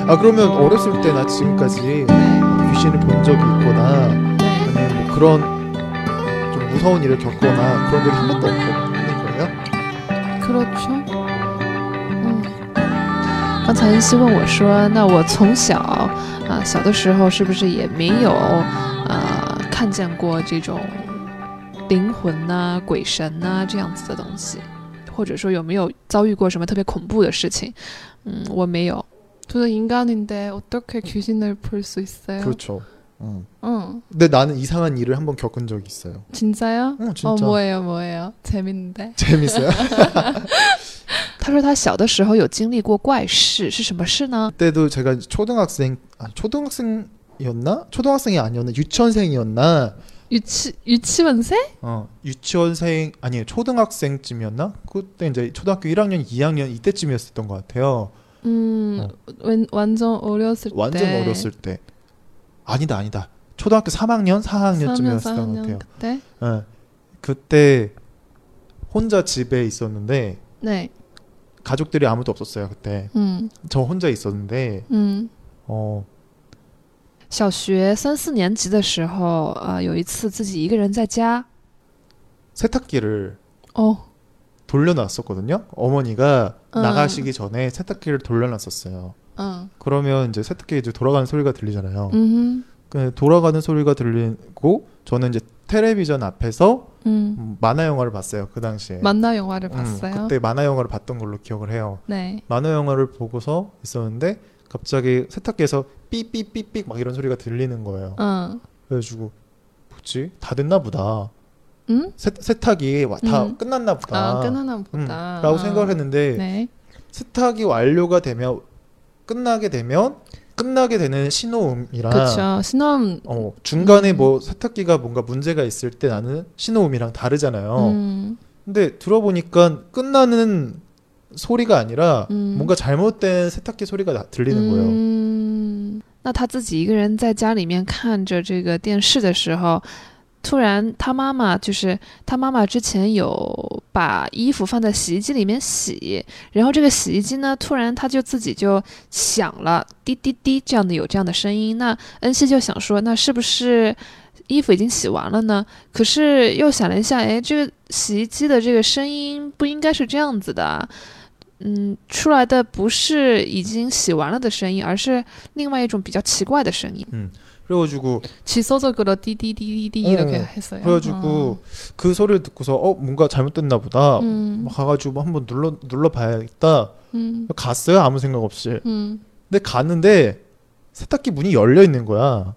그러면 어렸을 때나 지금까지 네. 귀신을 본 적이 있거나 네. 아니면 뭐 그런 좀 무서운 일을 겪거나 그런 적이 한 번도 없는 거예요? 그렇죠. 刚才恩熙问我说，那我从小小的时候是不是也没有看见过这种灵魂呐、鬼神呐这样子的东西，或者说有没有遭遇过什么特别恐怖的事情？我没有。 저도 인간인데 어떻게 귀신을 볼 수 있어요? 그렇죠. 근데 나는 이상한 일을 한번 겪은 적이 있어요. 진짜요? 진짜. 뭐예요? 재밌는데. 재밌어요? 他说他小的时候有经历过怪事，是什么事呢？ 그때도 제가 초등학생이었나? 초등학생이 아니었나? 유치원생이었나? 유치원생? 유치원생 아니 초등학생쯤이었나? 그때 이제 초등학교 1학년, 2학년 이때쯤이었던 것 같아요. 완전 어렸을 완전 어렸을 때. 아니다. 초등학교 3학년, 4학년쯤이었던 것 같아요. 그때? 그때 혼자 집에 있었는데 네. 가족들이 아무도 없었어요 그때. 저 혼자 있었는데 小学3、4年级的时候有一次自己一个人在家 세탁기를 돌려놨었거든요. 어머니가 나가시기 전에 세탁기를 돌려놨었어요. 그러면 이제 세탁기 이제 돌아가는 소리가 들리잖아요. 돌아가는 소리가 들리고 저는 이제 텔레비전 앞에서 만화 영화를 봤어요. 그 당시에. 만화 영화를 봤어요? 그때 만화 영화를 봤던 걸로 기억을 해요. 네. 만화 영화를 보고서 있었는데 갑자기 세탁기에서 삐삐삐삐 막 이런 소리가 들리는 거예요. 그래가지고 뭐지? 다 됐나 보다. 세탁이 다 끝났나 보다. 끝났나 보다. 라고 생각을 했는데 네. 세탁이 완료가 되면 끝나게 되는 신호음이랑 그렇죠. 신호음 중간에 뭐 세탁기가 뭔가 문제가 있을 때 나는 신호음이랑 다르잖아요. 근데 들어보니까 끝나는 소리가 아니라 뭔가 잘못된 세탁기 소리가 들리는 거예요. 那他自己一个人在家里面看着这个电视的时候，突然他妈妈之前有把衣服放在洗衣机里面洗，然后这个洗衣机呢突然他就自己就响了滴滴滴这样的声音，那恩熙就想说那是不是衣服已经洗完了呢？可是又想了一下，这个洗衣机的这个声音不应该是这样子的，出来的不是已经洗完了的声音，而是另外一种比较奇怪的声音。 그래가지고 지소적으로 띠띠띠띠 이렇게 했어요. 그래가지고 그 소리를 듣고서 뭔가 잘못됐나 보다. 가가지고 한번 눌러봐야겠다. 갔어요 아무 생각 없이. 근데 갔는데 세탁기 문이 열려 있는 거야.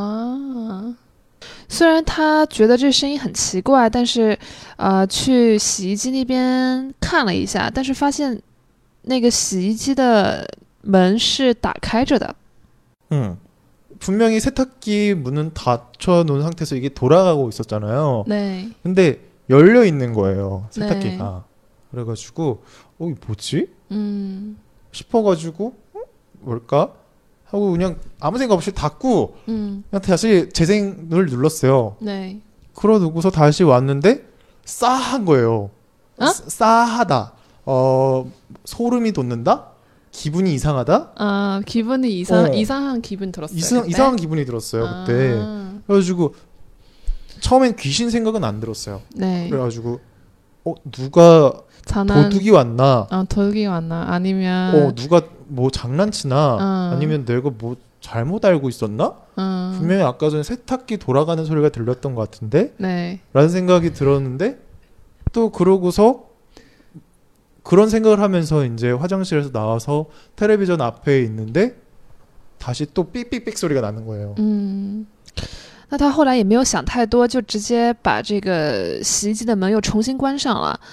虽然他觉得这声音很奇怪，但是去洗衣机那边看了一下，但是发现那个洗衣机的门是打开着的。 분명히 세탁기 문은 닫혀 놓은 상태에서 이게 돌아가고 있었잖아요. 네. 근데 열려 있는 거예요 세탁기가. 네. 그래가지고 이게 뭐지? 싶어가지고 뭘까? 하고 그냥 아무 생각 없이 닫고 그냥 다시 재생을 눌렀어요. 네. 그러고서 다시 왔는데 싸한 거예요. 싸하다. 소름이 돋는다? 기분이 이상하다? 기분이 이상한 기분 들었어요. 이상한 기분이 들었어요 그때. 그래가지고 처음엔 귀신 생각은 안 들었어요. 네. 그래가지고 누가 도둑이 왔나? 도둑이 왔나? 아니면 누가 뭐 장난치나? 아니면 내가 뭐 잘못 알고 있었나? 분명히 아까 전에 세탁기 돌아가는 소리가 들렸던 것 같은데? 네. 라는 생각이 들었는데 또 그러고서 그런 생각을 하면서 이제 화장실에서 나와서 텔레비전 앞에 있는데 다시 또 삑삑삑 소리가 나는 거예요. 那他后来也没有想太多，就直接把这个洗衣机的门又重新关上了。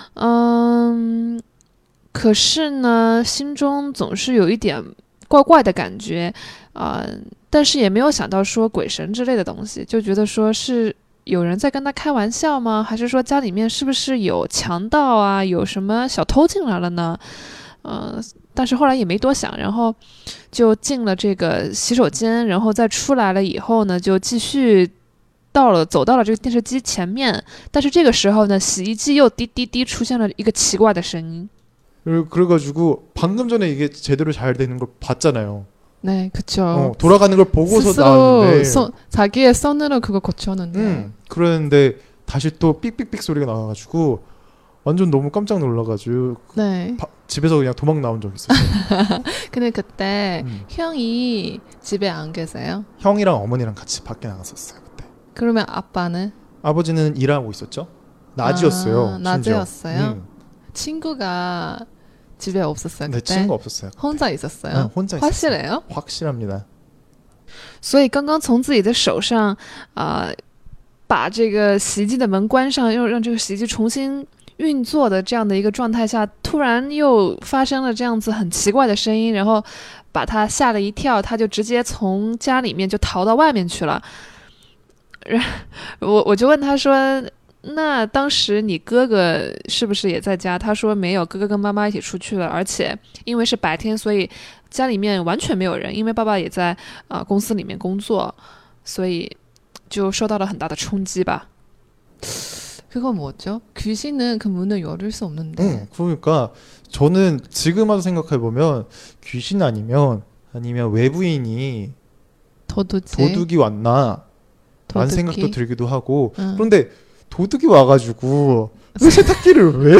可是呢，心中总是有一点怪怪的感觉，但是也没有想到说鬼神之类的东西，就觉得说是有人在跟他开玩笑吗？还是说家里面是不是有强盗啊？有什么小偷进来了呢？但是后来也没多想，然后就进了这个洗手间，然后再出来了以后呢，就继续走到了这个电视机前面。但是这个时候呢，洗衣机又滴滴滴出现了一个奇怪的声音。 그래가지고 방금 전에 이게 제대로 잘 되는 걸 봤잖아요. 네, 그쵸. 돌아가는 걸 보고서 스스로 나왔는데 자기의 손으로 그거 고쳤는데 그랬는데 다시 또 삑삑삑 소리가 나와가지고 완전 너무 깜짝 놀라가지고 네. 집에서 그냥 도망 나온 적 있었어요. 근데 그때 형이 집에 안 계세요? 형이랑 어머니랑 같이 밖에 나갔었어요 그때. 그러면 아빠는? 아버지는 일하고 있었죠. 낮이었어요. 낮이었어요? 친구가 집에 없었어요 그때? 네, 친구 없었어요. 그때. 혼자 있었어요? 네, 혼자 확실해요? 확실합니다. 所以刚刚从自己的手上把这个洗衣机的门关上，又让这个洗衣机重新运作的这样的一个状态下，突然又发生了这样子很奇怪的声音，然后把他吓了一跳，他就直接从家里面就逃到外面去了。我就问他说，那当时你哥哥是不是也在家？他说没有，哥哥跟妈妈一起出去了，而且因为是白天，所以家里面完全没有人，因为爸爸也在公司里面工作，所以就受到了很大的冲击吧。 그건 뭐죠? 귀신은 그 문을 열을 수 없는데. 그러니까 저는 지금 와서 생각해 보면 귀신 아니면 외부인이 도둑이 왔나 라는 생각도 들기도 하고 그런데 도둑이 와가지고 왜 세탁기를 왜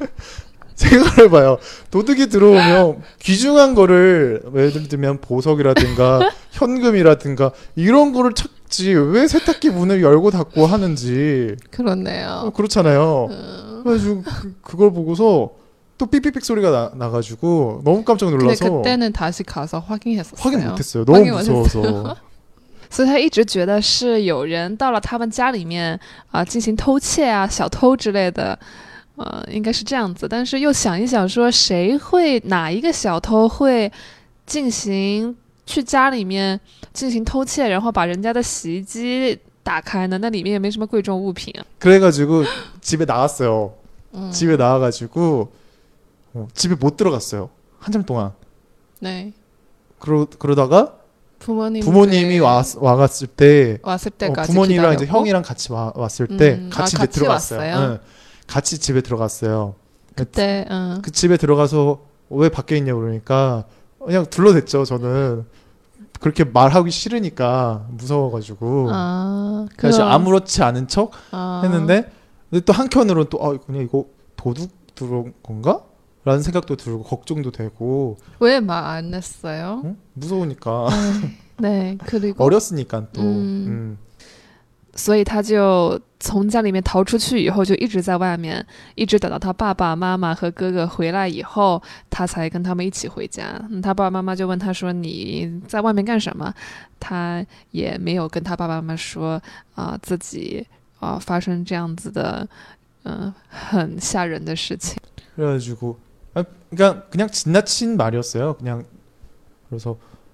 생각을 해봐요. 도둑이 들어오면 귀중한 거를 예를 들면 보석이라든가 현금이라든가 이런 거를 찾지 왜 세탁기 문을 열고 닫고 하는지. 그렇네요. 그렇잖아요. 그래가지고 그걸 보고서 또 삐삐삐 소리가 나가지고 너무 깜짝 놀라서. 근데 그때는 다시 가서 확인했었어요. 확인 못했어요. 너무 무서워서. 所以他一直觉得是有人到了他们家里面进行偷窃啊，小偷之类的，应该是这样子。但是又想一想说，哪一个小偷会去家里面进行偷窃，然后把人家的洗衣机打开呢？那里面也没什么贵重物品啊。 그래가지고 집에 나갔어요. 집에 나와가지고 집에 못 들어갔어요. 한참 동안. 네. 그러다가 부모님이 왔을 때까지 부모님이랑 이제 형이랑 같이 왔을 때 같이 이제 들어갔어요. 네, 같이 집에 들어갔어요. 그때 그 집에 들어가서 왜 밖에 있냐고 그러니까 그냥 둘러댔죠. 저는 그렇게 말하기 싫으니까 무서워가지고 사실 아무렇지 않은 척 했는데 근데 또 한켠으로는 또 그냥 이거 도둑 들어온 건가? 라는 생각도 들고 걱정도 되고. 왜 말 안 했어요? 무서우니까. 네, 그리고 어렸으니까 또. 所以他就从家里面逃出去以后就一直在外面，一直等到他爸爸妈妈和哥哥回来以后，他才跟他们一起回家。他爸爸妈妈就问他说你在外面干什么？他也没有跟他爸爸妈妈说自己发生这样子的很吓人的事情。 그래가지고 그냥 지나친 말이었어요. 그냥 그래서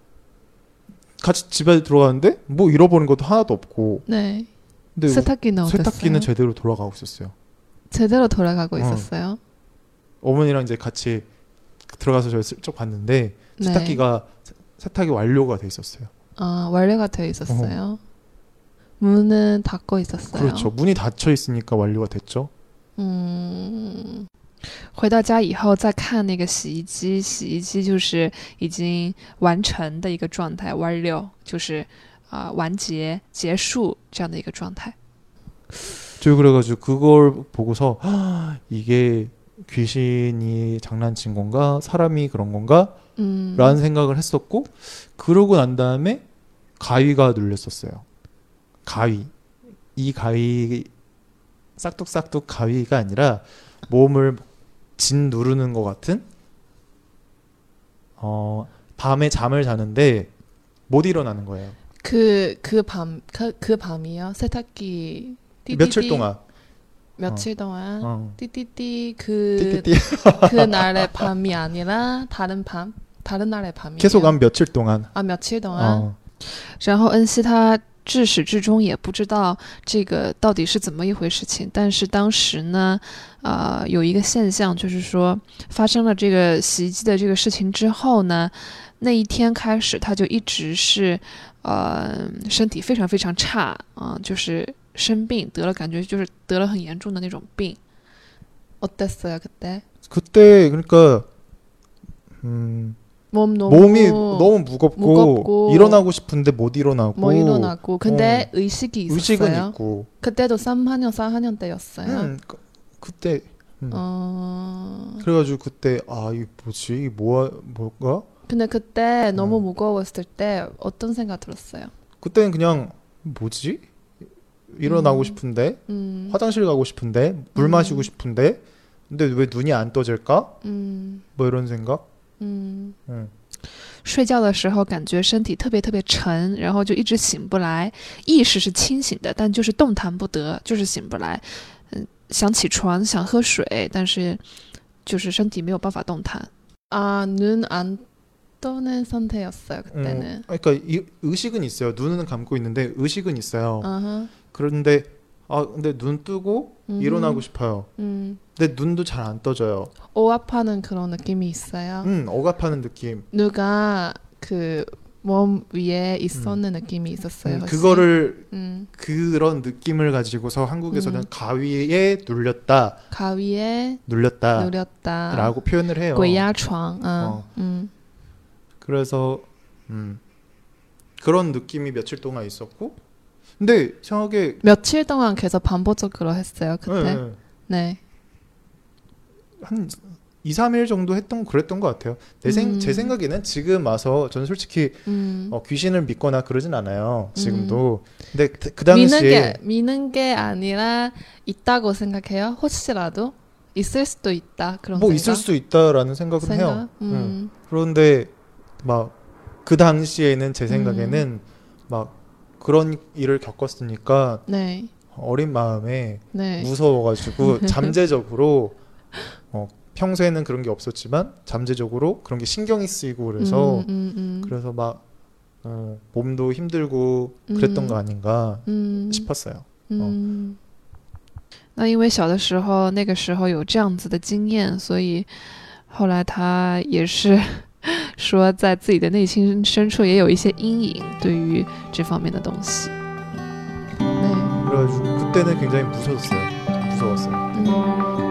같이 집에 들어가는데 뭐 잃어버린 것도 하나도 없고. 네. 근데 세탁기는 어땠어요? 세탁기는 제대로 돌아가고 있었어요. 제대로 돌아가고 있었어요? 어머니랑 이제 같이 들어가서 저희 슬쩍 봤는데 세탁기가 세탁이 완료가 돼 있었어요. 완료가 돼 있었어요. 문은 닫고 있었어요. 그렇죠. 문이 닫혀 있으니까 완료가 됐죠. 回到家以后再看那个洗衣机，洗衣机就是已经完成的一个状态，完了就是完结结束这样的一个状态。 저 그래가지고 그걸 보고서 이게 귀신이 장난친 건가 사람이 그런 건가 라는 생각을 했었고 그러고 난 다음에 가위가 눌렸었어요. 이 가위 싹둑싹둑 가위가 아니라 몸을 진 누르는 것 같은 밤에 잠을 자는데 못 일어나는 거예요. 그 밤이요? 세탁기 띠띠띠. 며칠 동안 띠띠띠 그날의 밤이 아니라 다른 날의 밤이에요. 계속 한 며칠 동안. 며칠 동안. 然后恩熙他至始至终也不知道这个到底是怎么一回事情，但是当时呢有一个现象，就是说发生了这个洗衣机的这个事情之后呢，那一天开始他就一直是身体非常非常差就是生病感觉就是得了很严重的那种病。 어땠어요 그때? 그때 그러니까 몸이 너무 무겁고 일어나고 싶은데 못 일어나고 근데 의식이 있었어요. 의식은 있고 그때도 3학년 4학년 때였어요. 그때 그래가지고 그때 이게 뭐지 이게 뭐가 근데 그때 너무 무거웠을 때 어떤 생각 들었어요? 그때는 그냥 뭐지 일어나고 싶은데 화장실 가고 싶은데 물 마시고 싶은데 근데 왜 눈이 안 떠질까? 뭐 이런 생각? 睡觉的时候感觉身体特别特别沉，然后就一直醒不来，意识是清醒的，但就是动弹不得，就是醒不来。想起床，想喝水，但是就是身体没有办法动弹。눈 안 떠는 상태였어요 그때는. 그러니까 의식은 있어요. 눈은 감고 있는데 의식은 있어요. 그런데 근데 눈 뜨고 일어나고 싶어요. 근데 눈도 잘 안 떠져요. 억압하는 그런 느낌이 있어요. 억압하는 느낌. 누가 그 몸 위에 있었는 느낌이 있었어요. 그거를 그런 느낌을 가지고서 한국에서는 가위에 눌렸다. 가위에 눌렸다라고 표현을 해요. 鬼压床. 그래서 그런 느낌이 며칠 동안 있었고 근데 생각에 며칠 동안 계속 반복적으로 했어요 그때. 네. 한 2, 3일 정도 그랬던 것 같아요. 제 생각에는 지금 와서 저는 솔직히 귀신을 믿거나 그러진 않아요. 지금도. 근데 그 당시에 믿는 게 아니라 있다고 생각해요. 혹시라도 있을 수도 있다 그런 뭐 생각? 있을 수 있다라는 생각은 해요. 그런데 막 그 당시에는 제 생각에는 막 그런 일을 겪었으니까 네. 어린 마음에 네. 무서워가지고 잠재적으로 평소에는 그런 게 없었지만 잠재적으로 그런 게 신경이 쓰이고 그래서 그래서 막 몸도 힘들고 그랬던 거 아닌가 싶었어요. 那因为小的时候那个时候有这样子的经验，所以后来他也是说在自己的内心深处也有一些阴影对于这方面的东西。 그래가지고 그때는 굉장히 무서웠어요.